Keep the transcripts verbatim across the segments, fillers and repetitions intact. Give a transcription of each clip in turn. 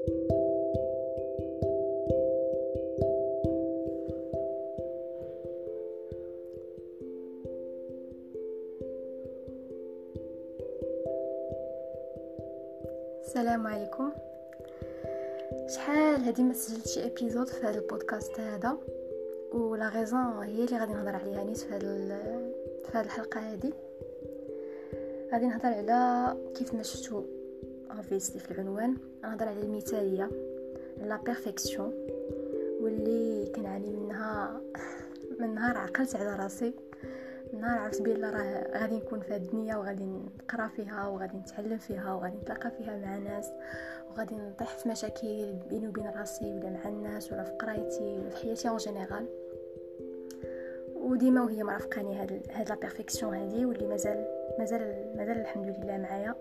السلام عليكم. شحال هذه ما سجلت شي ابيزود في هذا البودكاست هذا، ولا غيزون هي اللي غادي نهضر عليها نيت في هذا في هذه الحلقه هذه. غادي نهضر على كيف ما شفتوا اوبفيسلي في العنوان، نهضر على المثاليه، لا بيرفكسيون، واللي كنعاني منها من نهار عقلت على راسي، من نهار عرفت بلي راه غادي نكون في هذه الدنيا وغادي نقرا فيها وغادي نتعلم فيها وغادي نتلاقى فيها مع ناس وغادي نطيح في مشاكل بيني وبين راسي ولا مع الناس ولا في قرايتي ولا في حياتي اون جينيرال. وديما وهي مرافقاني هاد هاد لا بيرفكسيون هذه، واللي مازال مازال مازال الحمد لله معايا.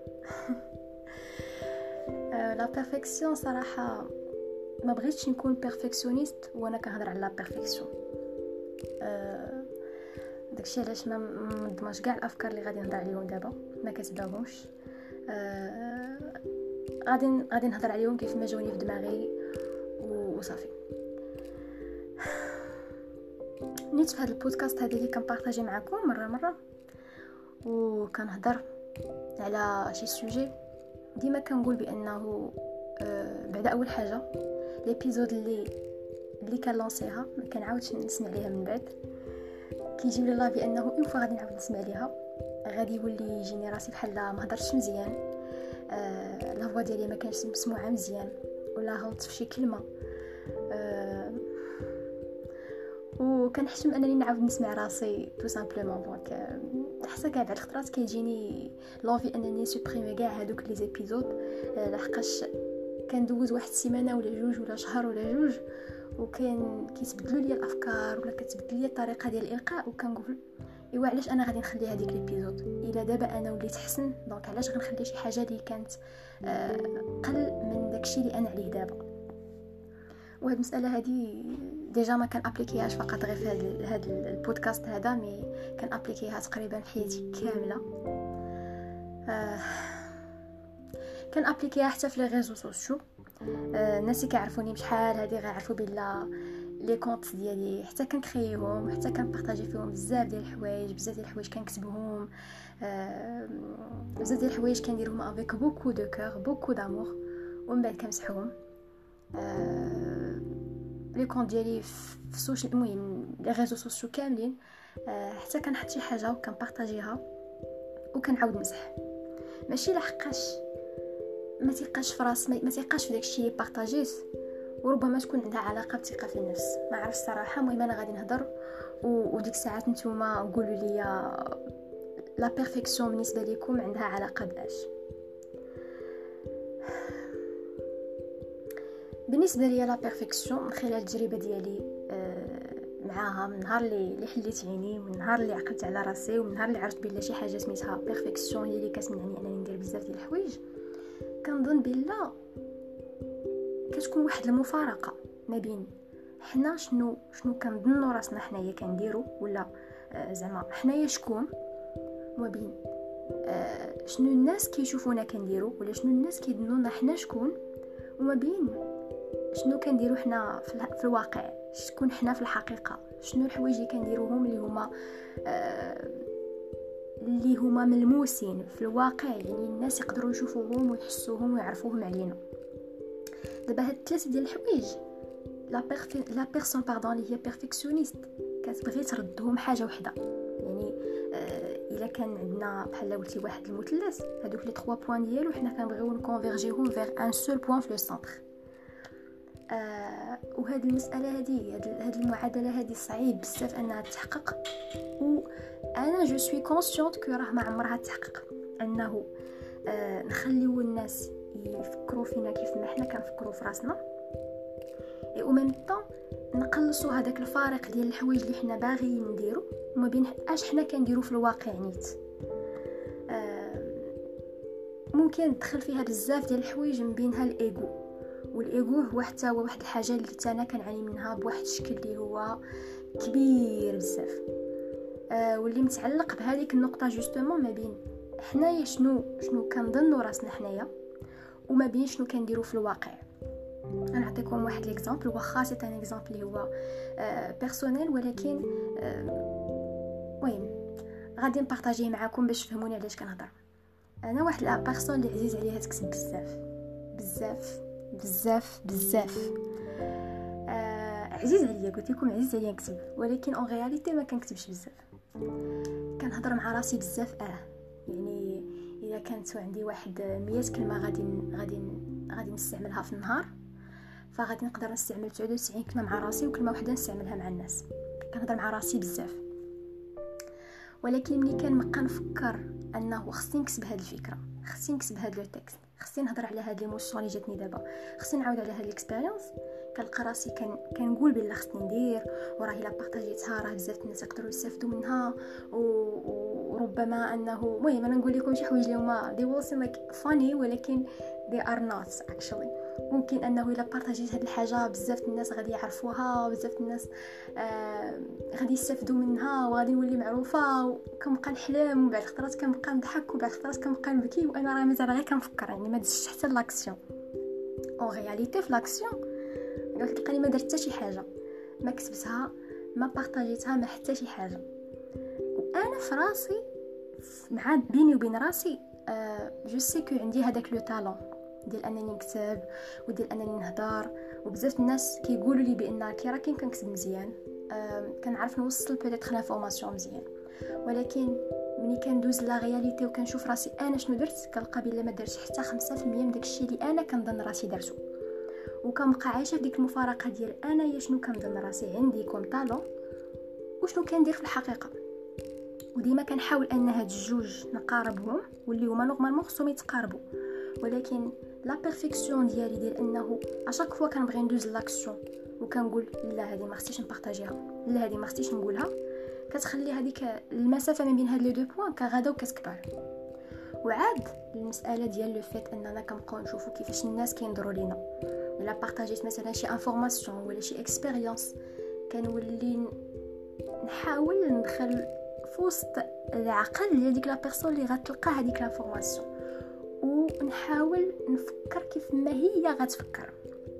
لا بيرفكسيون صراحه ما بغيتش نكون بيرفكسيونيست وانا كنهضر على لا بيرفكسيون. أه داكشي علاش ما منظماش كاع الافكار اللي غادي نهضر عليهم دابا، ما كتباهمش. أه غادي غادي نهضر عليهم كيف ما جاوني في دماغي وصافي. نيت في هذا البودكاست هذا اللي كنبارطاجي معكم مره مره وكنهضر على شي سوجي، ديما كنقول بانه أه بعد اول حاجه ليبيزود اللي اللي كنلونسيها ما كنعاودش نسمع ليها من بعد. كيجيب لي الله بانه اون فوا غادي نعاود نسمع ليها غادي يولي يجيني راسي بحال ما هضرتش مزيان، آه لا فوا ديالي ما كانش مسموعه مزيان، ولا غلطت في شي كلمه، آه وكنحشم انني نعاود نسمع راسي تو سامبلومون. دونك حتى كاع بعض الخطرات كيجيني لوفي انني سوبريمي كاع هذوك لي زيبيزود، آه لحقاش كندوز واحد السيمانه ولا جوج ولا شهر ولا جوج وكان كيتبدلوا لي الافكار ولا كتبدل لي الطريقه ديال الالقاء، وكنقول ايوا علاش انا غادي نخلي هذيك ليبيزود الا دابا انا وليت احسن، دونك علاش غنخلي شي حاجه اللي كانت آه قل من داكشي اللي انا عليه دابا. وهاد المساله هذه ديجا ما كان ابليكيهاش فقط غير في هذا هذا البودكاست هذا، مي كان ابليكيها تقريبا في حياتي كامله. آه كان ابليكيها حتى في لي ريزو سوسيو. آه الناس اللي كيعرفوني بشحال هذه غيعرفوا بلا لي كونط ديالي حتى كنكرييهم، حتى كنبارطاجي فيهم بزاف ديال الحوايج، بزاف ديال الحوايج كنكتبهم، آه بزاف ديال الحوايج كنديرهم افيك بوكو دو كور بوكو دامور، ومن بعد كنمسحهم. آه لي كونط ديالي في السوشيال، المهم لي ريزو سوسيو كاملين، آه حتى كنحط شي حاجه وكنبارطاجيها وكنعاود نمسح. ماشي لحقاش ما تيقاش في راس ما تيقاش في داكشي اللي بارطاجيت، وربما تكون عندها علاقه بالثقه في النفس، ما عرفت الصراحه. المهم انا غادي نهضر وديك الساعات نتوما قولوا لي لا بيرفكسيون بالنسبه لكم عندها علاقه باش. بالنسبه لي لا بيرفكسيون من خلال التجربه ديالي معاها، من نهار اللي حليت عيني، من نهار اللي عقلت على راسي، ومن نهار اللي عرفت بلا شي حاجه سميتها بيرفكسيون هي اللي كتمنعني انني ندير بزاف ديال الحوايج، كنظن بلا كتكون واحد المفارقه ما بين حنا شنو شنو كنظنوا راسنا حنايا كنديروا، ولا آه زعما حنايا شكون، وما بين آه شنو الناس كيشوفونا كنديروا، ولا شنو الناس كيظنونا حنا شكون، وما بين شنو كنديروا حنا في الواقع، شكون حنا في الحقيقه، شنو الحوايج اللي كنديروهم اللي هما آه اللي هما ملموسين في الواقع، يعني الناس يقدروا يشوفوهم ويحسوهم ويعرفوهم علينا. دابا هاد ثلاثه ديال الحوايج لا بيرفي لا بيرسون باردون اللي هي بيرفكسيونيست كتبغي تردهم حاجه وحده. يعني آه الا كان عندنا بحال قلتي واحد المثلث، هذوك لي ثلاثة بوين ديالو حنا كنبغيو نكونفيرجيهم فيغ ان سول بوين في لو سونتر. آه وهاد المساله هذه هاد المعادله هذه صعيب بزاف انها تحقق، وانا جو سوي كونسيونت كو راه ما عمرها تحقق انه آه نخليو الناس يفكروا فينا كيف ما حنا كنفكروا في راسنا، او ميم طون نقلصوا هذاك الفارق ديال الحوايج اللي حنا باغيين نديرو وما بين اش حنا كنديرو في الواقع نيت. آه ممكن تدخل فيها بزاف ديال الحوايج من بينها الايغو، والايغو هو حتى هو واحد الحاجه اللي انا كنعاني منها بواحد الشكل اللي هو كبير بزاف، آه واللي متعلق بهذيك النقطه جوستومون ما بين حنايا شنو شنو كنظنوا راسنا حنايا وما بين شنو كنديروا في الواقع. انا نعطيكم واحد ليكزامبل، واخا سي ان اكزامبل اللي هو بيرسونيل، ولكن المهم غادي نبارطاجيه معكم باش تفهموني علاش كنهضر. انا واحد لا بيرسون اللي عزيز عليها تكتب بزاف بزاف بزاف بزاف آه عزيز عليا، قلت لكم عزيز عليا نكتب، ولكن اون رياليتي ما كنكتبش بزاف. كنهضر مع راسي بزاف. اه يعني اذا كانت عندي واحد مية كلمه غادي غادي غادي نستعملها في النهار، فغادي نقدر نستعمل تسعة وتسعين كلمه مع راسي وكلمه واحده نستعملها مع الناس. كنهضر مع راسي بزاف، ولكن ملي كنبقى نفكر انه خصني نكتب هذه الفكره، خصني نكتب هذا لو تكست، خصني نهضر على هذه ليموشن اللي جاتني دابا، خصني نعاود على هذه الاكسبيريونس، كنلقى راسي كان كنقول بلا خصني ندير، وراه الا بارطاجيتها راه بزاف الناس يقدروا يستافدوا منها، وربما انه المهم انا نقول لكم شي حوايج اللي هما they will seem like funny ولكن they are not actually. ممكن انه الا بارطاجيت هذه الحاجه بزاف الناس غادي يعرفوها، وبزاف الناس آه غادي يستافدوا منها، وغادي نولي معروفه، وكنبقى نحلم، وبعد خطرات كنبقى نضحك، وبعد خطرات كنبقى نبكي، وانا راه مازال غير كنفكر، يعني ما درتش حتى لاكسيون. اون رياليتي في لاكسيون قلت لقاني ما درت حتى شي حاجه، ما كتبتها، ما بارطاجيتها، ما حتى شي حاجه. وانا في راسي مع بيني وبين راسي أه جو سي كو عندي هذاك لو تالون ديال انني نكتب وديال انني نهضر، وبزاف الناس كيقولوا لي بان كي راه كاين كنكتب مزيان، أه كنعرف نوصل بيتيت لافورماسيون مزيان، ولكن ملي كندوز لا رياليتي وكنشوف راسي انا شنو درت، كنلقى بلا ما درتش حتى خمسة في المية من داكشي اللي انا كنظن راسي درتو، وكنبقى عايشه في ديك المفارقه ديال انا يا شنو كنظن راسي عندي كوم طالون وشنو كندير في الحقيقه. وديما كنحاول ان هاد الجوج نقاربهم، واللي هما نورمالمون خصهم يتقاربوا، ولكن لا بيرفيكسيون ديالي ديال انه اشاك فوا كنبغي ندوز لاكسيون وكنقول لا هذه ما خصنيش نبارطاجيها، لا هذه ما خصنيش نقولها، كتخلي هذيك المسافه ما بين هاد لي دو بوين كغادا وكتكبر. وعاد المساله ديال لو فيت اننا كنبقاو نشوفوا كيفاش الناس كينظروا لينا. الا بارطاجيت مثلا شي انفورماسيون ولا شي اكسبيريونس، كنولي نحاول ندخل في وسط العقل ديال ديك لا بيرسون اللي غتلقى هذيك لافورماسيون، ونحاول نفكر كيف ما هي غتفكر.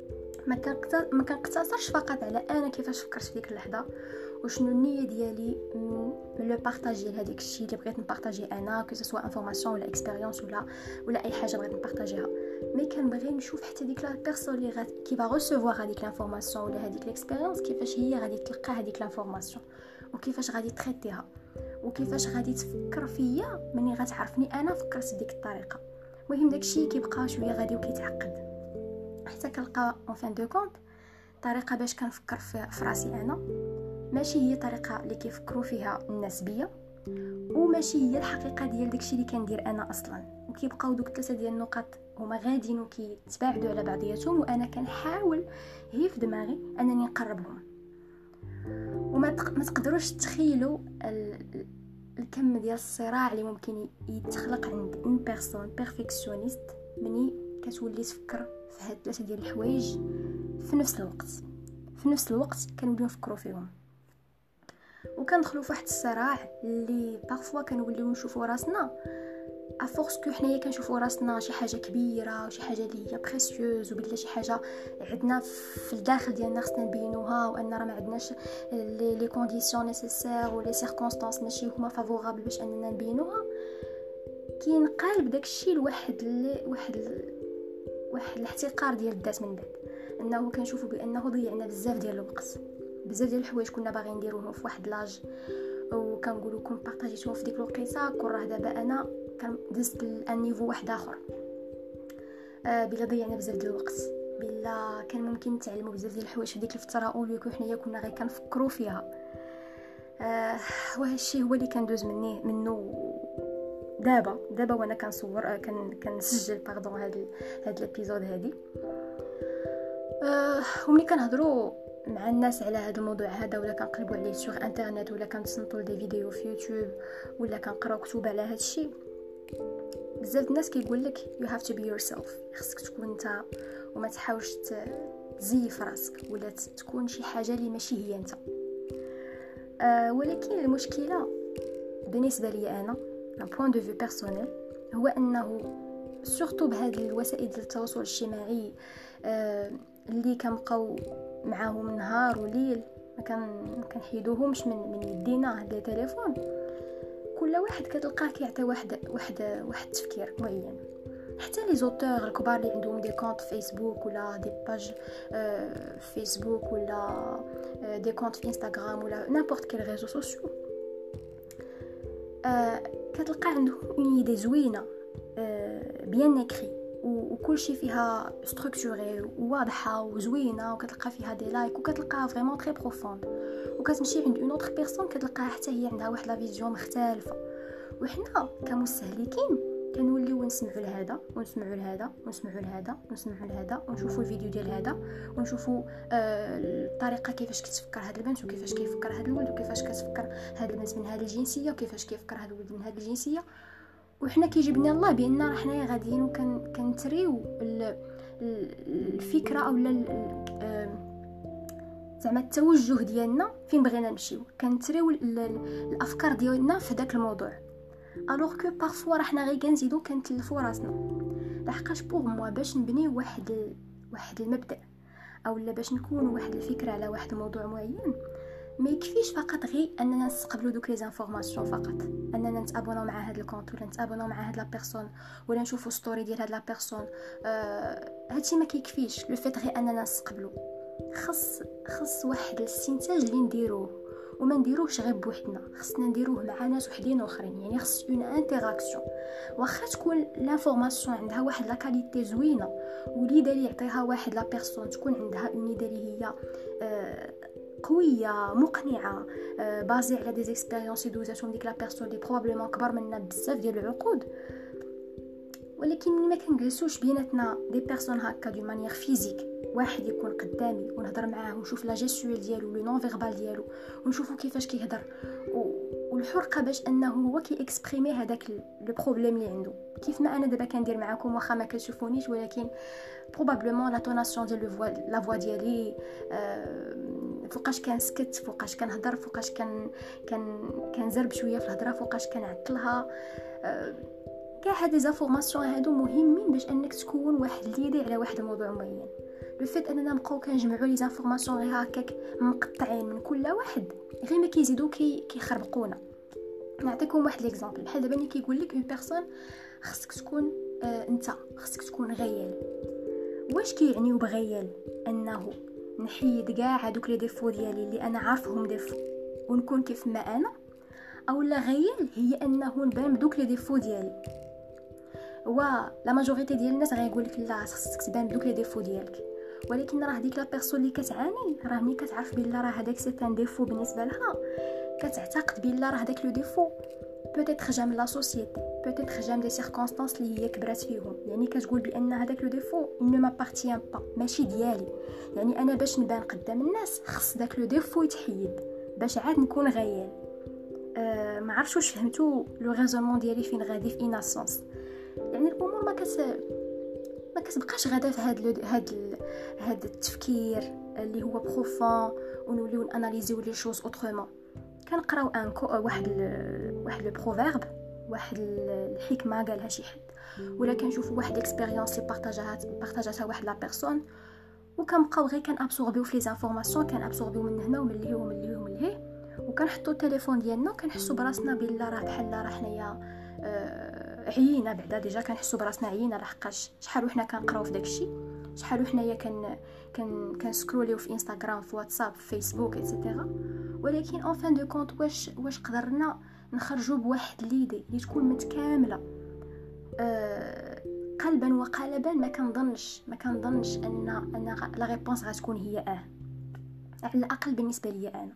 ما كنقتصرش فقط على انا كيفاش فكرت في ديك اللحظه وشنو النيه ديالي من لو بارطاج ديال هذاك الشيء اللي بغيت نبارطاجي انا، كو سوا انفورماسيون ولا اكسبيريونس ولا ولا اي حاجه بغيت نبارطاجيها، مي كنبغي نشوف حتى ديك لا بيرسون اللي غادي كي با ريسيفوار هذيك لانفورماسيون ولا هذيك الاكسبيريونس كيفاش هي غادي تلقى هذيك لانفورماسيون، وكيفاش غادي تريتيها، وكيفاش غادي تفكر فيا مني غتعرفني انا فكرت بديك الطريقه. المهم داكشي كيبقى شويه غادي وكيتعقد، حتى كنلقى اون فان دو كونط طريقه باش كنفكر في راسي انا ماشي هي طريقه اللي كيفكروا فيها الناس بيا، وماشي هي الحقيقه ديال داكشي اللي كندير انا اصلا. وكيبقاو دوك ثلاثه ديال النقط هما غاديين وكيتباعدوا على بعضياتهم، وانا كنحاول هي في دماغي انني نقربهم. وما تق... ما تقدروش تخيلوا ال... الكم ديال الصراع اللي ممكن يتخلق عند ان بيرسون بيرفكسيونيست مني كتولي تفكر في هاد ثلاثه ديال الحوايج في نفس الوقت في نفس الوقت كنوليو نفكروا فيهم، وكندخلوا في واحد الصراع اللي بارفوا كنوليو نشوفوا راسنا افورس كو حنايا كنشوفوا راسنا شي حاجه كبيره وشي حاجه اللي هي بريسيوز، وبلا شي حاجه عندنا في الداخل ديالنا خصنا نبينوها، وان راه ما عندناش لي لي كونديسيون نيسيسير ولا سيركونستانس ماشي هما فافورابل باش اننا نبينوها، كينقلب داكشي لواحد اللي واحد ال... واحد الاحتقار ديال الذات من بعد، انه كنشوفوا بانه ضيعنا بزاف ديال الوقت، بزاف ديال الحوايج كنا باغيين نديروهم في واحد لاج وكنقولوا كون بارطاجيتهم في ديك الوقيته، كون راه دابا انا كندزت لانيفو واحد اخر، آه بلا ضيعنا بزاف ديال الوقت، بلا كان ممكن نتعلموا بزاف ديال الحوايج في ديك الفتره اوليكو حنايا كنا غير كنفكروا فيها. آه وهذا الشيء هو اللي كندوز مني منه دابا دابا وانا كنصور آه كن كنسجل باردون هذا هذا الابيزود هذه. آه وملي كنهضروا مع الناس على هذا الموضوع هذا، ولا كنقلبوا عليه سوغ انترنت، ولا كنتصنتوا دي فيديو في يوتيوب، ولا كنقراو كتب على هذا الشيء، بزاف الناس كيقول لك you have to be yourself، خصك تكون انت وما تحاولش تزيف راسك ولا تكون شي حاجه اللي ماشي هي انت. أه ولكن المشكله بالنسبه لي انا من بوين دو في بيرسونيل هو انه سورتو بهذه الوسائل ديال التواصل الاجتماعي آه اللي كنبقاو معاهم نهار وليل، ما كان كنحيدوهمش من من يدينا هاد التليفون. كل واحد كتلقاه كيعطي واحد واحد واحد التفكير معين. حتى لي زوتور الكبار اللي عندهم دي كونط فيسبوك ولا دي باج آه فيسبوك ولا آه دي كونط في انستغرام ولا نابورت كيل ريزو سوسيو، آه كتلقى عندهم اون ايدي زوينه، آه بيان اكري، وكل شيء فيها ستركتوري وواضحه وزوينه، وكتلقى فيها دي لايك، وكتلقاها فريمون تري بروفوند. وكتمشي عند اون اوتر بيرسون كتلقاها حتى هي عندها واحد لا فيزيون مختلفه. وحنا كمستهلكين كنوليو نسمعوا لهذا ونسمعوا لهذا ونسمعوا لهذا ونسمعوا لهذا ونشوفوا الفيديو ديال هذا، ونشوفوا آه الطريقه كيفاش كتفكر هذا البنت، وكيفاش كيفكر هذا الولد، وكيفاش كتفكر هذا البنت من هذه الجنسيه، وكيفاش كيفكر هذا الولد من هذه الجنسيه. وحنا كيجبنا الله بان راه حنايا غاديين وكنتريو الفكره او زعما التوجه ديالنا فين بغينا نمشيو، كنتريو الافكار ديالنا في داك الموضوع. الوغ كو بارفوا راه حنا غير كنزيدو كنتلفوا راسنا. لحقاش بوغ موا باش نبنيو واحد ال... واحد المبدا او لا باش نكونوا واحد الفكره على واحد الموضوع معين، ما يكفيش فقط غير اننا نستقبلوا دوك لي زانفورماسيون فقط، اننا نتابوناو مع هاد الكونط ولا نتابوناو مع هاد لا بيرسون ولا نشوفوا ستوري ديال هاد لا بيرسون. آه هادشي ما كيكفيش لو فيت غير اننا نستقبلوا. خص خص واحد الاستنتاج اللي نديروه، وما نديروهش غير بوحدنا، خصنا نديروه مع ناس وحدين اخرين. يعني خص اون انتراكسيون، واخا تكون لافورماسيون عندها واحد لا كاليتي زوينه وليده اللي يعطيها واحد لا بيرسون تكون عندها اون ايدي اللي هي آه قويه مقنعه، آه بازي على دي زيكسبيريونس دوزاتهم ديك لا بيرسون اللي بروبابليمون كبر منا بزاف ديال العقود. ولكن ملي ما كنجلسوش بيناتنا دي بيرسون هكا دو مانيير فيزيك، واحد يكون قدامي ونهضر معاه ونشوف لا جيستويل ديالو لو نون فيربال ديالو ونشوفو كيفاش كيهضر، والحرقه باش انه هو كي اكسبريمي هذاك لو بروبليم اللي عنده. كيف ما انا دابا كندير معكم واخا ما كتشوفونيش، ولكن بروبابلمون لا توناسيون ديال لو فوا لا فوا ديالي، آه فوقاش كنسكت، فوقاش كنهضر، فوقاش كان كان كنزرب شويه في الهضره، فوقاش كنعطلها. آه كاع هاد لي زانفورماسيون هادو مهمين باش انك تكون واحد ليدي على واحد الموضوع معين. لو فيت اننا نبقاو كنجمعوا لي زانفورماسيون غير هكاك مقطعين من كل واحد، غير ما كيزيدو كي كيخربقونا. نعطيكم واحد ليكزامبل. بحال دابا ملي كيقول لك اون بيرسون خصك تكون آه انت خصك تكون غيال. واش كيعنيو بغيال؟ انه نحيد كاع هذوك لي ديفو ديالي اللي انا عارفهم ديفو ونكون كيف ما انا، او لا غيال هي انه نبان بدوك لي ديفو ديالي؟ وا لا ماجوريتي ديال الناس غيقول لك لا خصك تبان بدوك لي ديفو ديالك. ولكن راه ديك لا بيرسون اللي كتعاني راه ملي كتعرف بلا راه هذاك سي ان ديفو بالنسبه لها، كتعتقد بلا راه هذاك لو ديفو بوتيتر جا من لا سوسيتي، بوتيتر جا من دي سيركونستانس اللي هي كبرات فيهم. يعني كتقول بان هذاك لو ديفو نو مابارتيان با، ماشي ديالي. يعني انا باش نبان قدام الناس خص داك لو ديفو يتحيد باش عاد نكون غيال. أه ما عرفتش واش فهمتوا لو ريزونمون ديالي فين غادي في اناسونس. يعني الامور ما كت ما كتبقاش غادا في هاد ال... هاد ال... هاد التفكير اللي هو بروفون ونوليو ناناليزيو لي شوز اوترومون. كنقراو ان كو... واحد ال... واحد لو بروفيرب، واحد الحكمه قالها شي حد، ولا كنشوفوا واحد الاكسبيريونس اللي بارطاجاها بارطاجاتها واحد لا بيرسون، وكنبقاو غير كنابسوربيو في لي زانفورماسيون، كنابسوربيو من هنا ومن لهي ومن لهي ومن لهي، وكنحطوا التليفون ديالنا وكنحسوا براسنا بلا راه بحال راه حنايا أه... عيينا. بعدا ديجا كنحسوا براسنا عيينا، لحقاش شحال وحنا كنقراو في داكشي، شحال وحنايا كن كن كنسكروليو في انستغرام، في واتساب، في فيسبوك ايتترا. ولكن اون فان دو كونط واش واش قدرنا نخرجوا بواحد ليدي اللي تكون متكامله أه قلبا وقالبا؟ ما كنظنش ما كنظنش ان ان لا ريبونس غتكون هي اه على الاقل بالنسبه لي انا.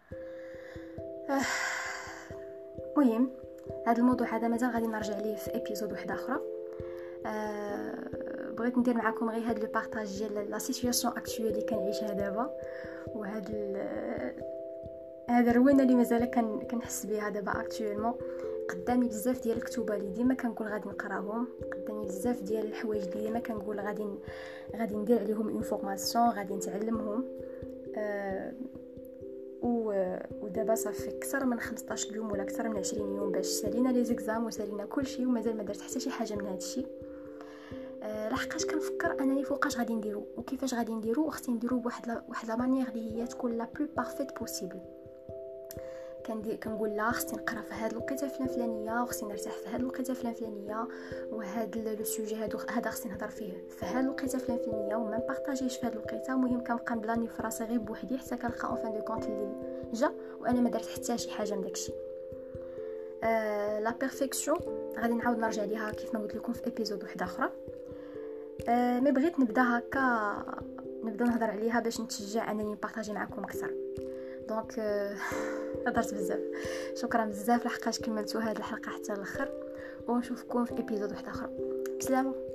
المهم هذا الموضوع هذا مازال غادي نرجع ليه في ابيزود واحده اخرى. أه بغيت ندير معكم غير هذا لو بارطاج ديال لا سيتوياسيون اكطويل اللي كنعيشها دابا، وهذا هذا الروينه اللي مازال كنحس بها دابا اكطويلمون. قدامي بزاف ديال الكتوبه اللي ديما كنقول غادي نقراهم، قدامي بزاف ديال الحوايج اللي ديما كنقول غادي غادي ندير عليهم اون فورماسيون، غادي نتعلمهم. أه ودابا صافي اكثر من خمسطاش يوم ولا اكثر من عشرين يوم باش سالينا لي زيكزام وسالينا كلشي، ومازال ما درت حتى شي حاجه من هذا الشيء. لحقاش كنفكر انني فوقاش غادي نديرو وكيفاش غادي نديرو، وخصني نديرو بواحد لا واحد لا مانيير اللي هي تكون لا بلو بارفيت بوسيبل. كندير كنقول لا خصني نقرا في هاد الوقيته فلان فلانيه، وخصني نرتاح في هاد الوقيته فلان فلانيه، وهاد لو سوجي هادو هذا خصني نهضر فيه في هاد الوقيته فلان فلانيه، وما نبارطاجيش في هاد الوقيته. المهم كنبقى نبلاني في راسي غير بوحدي حتى كنلقى اون فان دو كونط الليل جا وانا ما درت حتى شي حاجه من داكشي. أه لا بيرفيكسيون غادي نعاود نرجع ليها كيف ما قلت لكم في ابيزود واحده اخرى. أه مي بغيت نبدا هكا نبدا نهضر عليها باش نتشجع انني نبارطاجي معكم اكثر. دونك هضرت بزاف، شكرا بزاف لحقاش كملتوا هذه الحلقه حتى الاخر، ونشوفكم في ابيزود واحد اخر. بسلامه.